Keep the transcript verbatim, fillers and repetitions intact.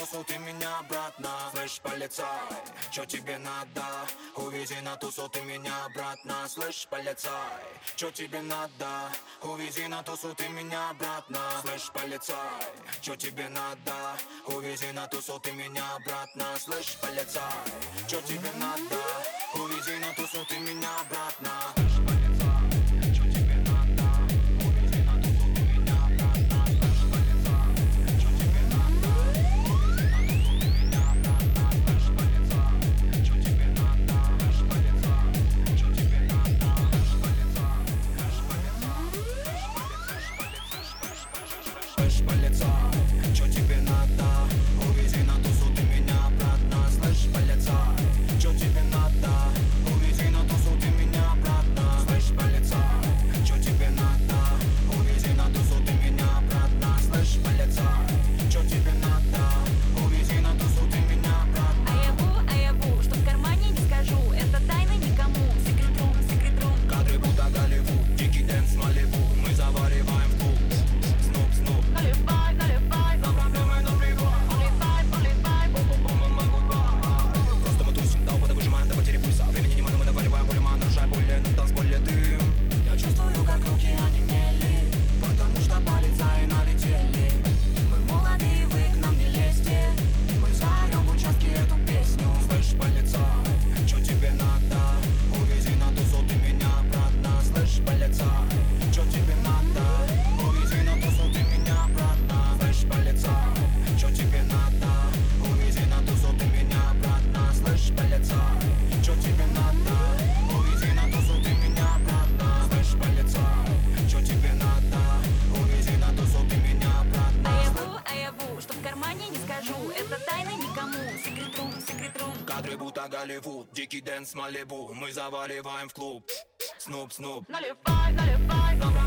тусу, ты меня обратно. Слышь, полицай, чё тебе надо? Увези на тусу, ты меня обратно. Слышь, полицай, чё тебе надо? Увези на тусу, ты меня обратно. Слышь, полицай, чё тебе надо? Увези на тусу, ты меня обратно. Слышь, полицай, чё тебе надо? Увези на тусу, ты меня обратно. Кадры будто Голливуд, дикий дэнс Малибу. Мы заваливаем в клуб. Снуп, снуп, Наливай, наливай.